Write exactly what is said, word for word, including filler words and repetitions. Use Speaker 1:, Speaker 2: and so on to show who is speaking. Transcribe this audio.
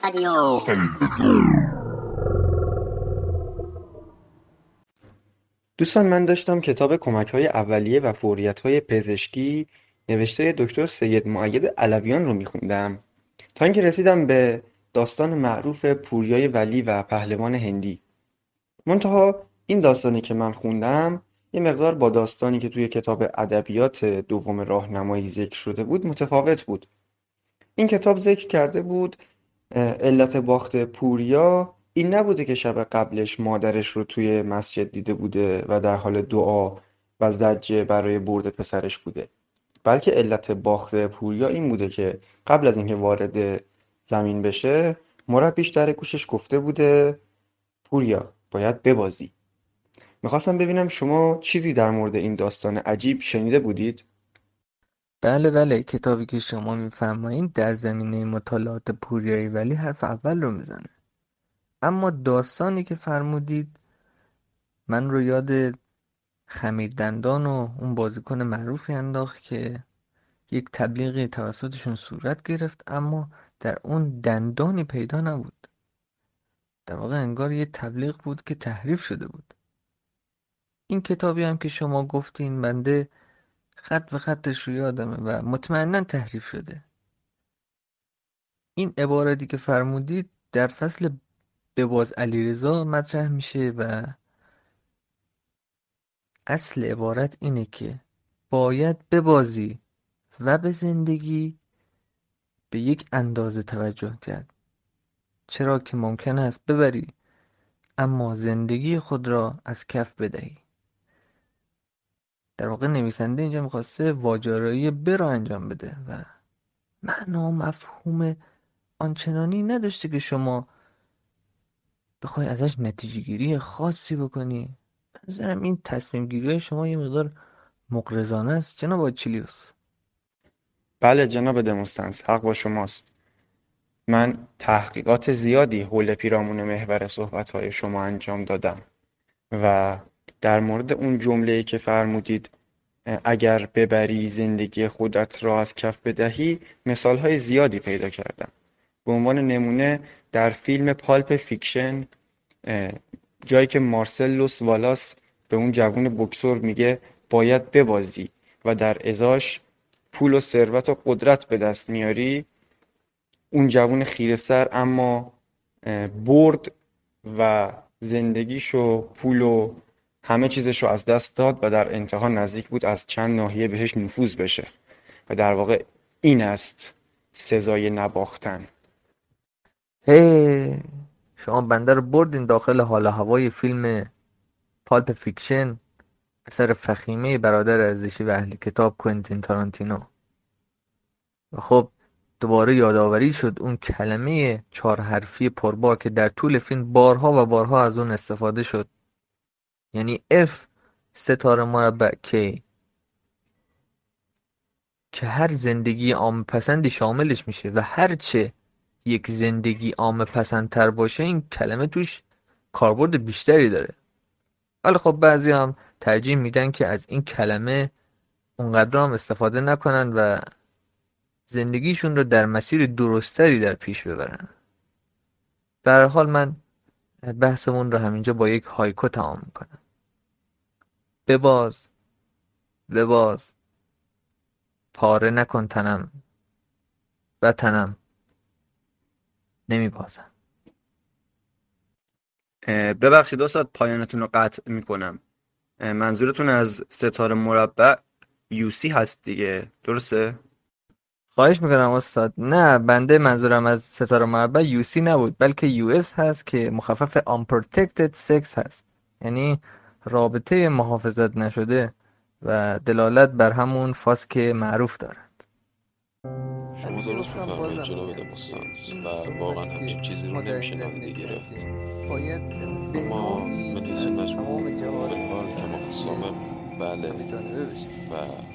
Speaker 1: رادیو.
Speaker 2: دوستان من داشتم کتاب کمک‌های اولیه و فوریت‌های پزشکی نوشته دکتر سید مؤید علویان رو می‌خوندم تا اینکه رسیدم به داستان معروف پوریای ولی و پهلوان هندی. منتها این داستانی که من خوندم یه مقدار با داستانی که توی کتاب ادبیات دوم راهنمایی ذکر شده بود متفاوت بود. این کتاب ذکر کرده بود اه، علت باخت پوریا این نبوده که شب قبلش مادرش رو توی مسجد دیده بوده و در حال دعا و زجه برای برد پسرش بوده، بلکه علت باخت پوریا این بوده که قبل از اینکه وارد زمین بشه مربیش در گوشش گفته بوده پوریا باید ببازی. میخواستم ببینم شما چیزی در مورد این داستان عجیب شنیده بودید؟
Speaker 3: بله بله، کتابی که شما میفرمایید در زمینه مطالعات پوریایی ولی حرف اول رو میزنه. اما داستانی که فرمودید من رو یاد خمیردندان و اون بازیکن معروفی انداخت که یک تبلیغی توسطشون صورت گرفت اما در اون دندانی پیدا نبود. در واقع انگار یه تبلیغ بود که تحریف شده بود. این کتابی هم که شما گفتین بنده خط به خطش رو یادمه و مطمئنا تحریف شده. این عبارتی که فرمودید در فصل بباز علیرضا مطرح میشه و اصل عبارت اینه که باید ببازی و به زندگی به یک اندازه توجه کرد، چرا که ممکن است ببری اما زندگی خود را از کف بدهی. در واقع نویسنده اینجا میخواسته واجرایی ب را انجام بده و معنا و مفهوم آنچنانی نداشته که شما بخوای ازش نتیجه گیری خاصی بکنی. به نظرم این تصمیم گیری های شما یه مقدار مغرضانه است جناب آچیلیوس.
Speaker 2: بله جناب دموستنس، حق با شماست. من تحقیقات زیادی حول پیرامون محور صحبت‌های شما انجام دادم و در مورد اون جمله‌ای که فرمودید اگر ببری زندگی خودت را از کف بدهی مثال‌های زیادی پیدا کردم. به عنوان نمونه در فیلم پالپ فیکشن جایی که مارسلوس والاس به اون جوون بوکسور میگه باید ببازی و در ازاش پول و ثروت و قدرت به دست میاری، اون جوون خیره سر اما برد و زندگیشو پول و همه چیزشو از دست داد و در انتها نزدیک بود از چند ناحیه بهش نفوذ بشه و در واقع این است سزای نباختن.
Speaker 3: هی شما بنده رو بردین داخل حال و هوای فیلم پالپ فیکشن، اثر فخیمه برادر ارزشی و اهل کتاب کوئنتین تارانتینو. و خب دوباره یادآوری شد اون کلمه چهار حرفی پربار که در طول فیلم بارها و بارها از اون استفاده شد، یعنی F ستاره مربع K، که هر زندگی عامه پسندی شاملش میشه و هرچه یک زندگی عامه پسندتر باشه این کلمه توش کاربرد بیشتری داره. ولی خب بعضی هم ترجیح میدن که از این کلمه اونقدر هم استفاده نکنن و زندگیشون رو در مسیر درستری در پیش ببرن. به هر حال من بحثمون رو همینجا با یک هایکو تمام میکنم. بباز بباز پاره نکن تنم و تنم نمیبازم.
Speaker 2: ببخشید استاد پایانتون رو قطع میکنم. منظورتون از ستاره مربع یوسی هست دیگه، درسته؟
Speaker 3: خواهش میکنم استاد. نه، بنده منظورم از ستاره مربع یو سی نبود بلکه یو اس هست که مخفف unprotected sex هست، یعنی رابطه محافظت نشده و دلالت بر همون فاس که معروف دارد.
Speaker 4: شما درست میفرمایید جناب دموستانس و واقعا همچین چیزی رو نمیشه نادیده گرفت. اما مکانیزم مجموع به عنوان تمام سامم بله و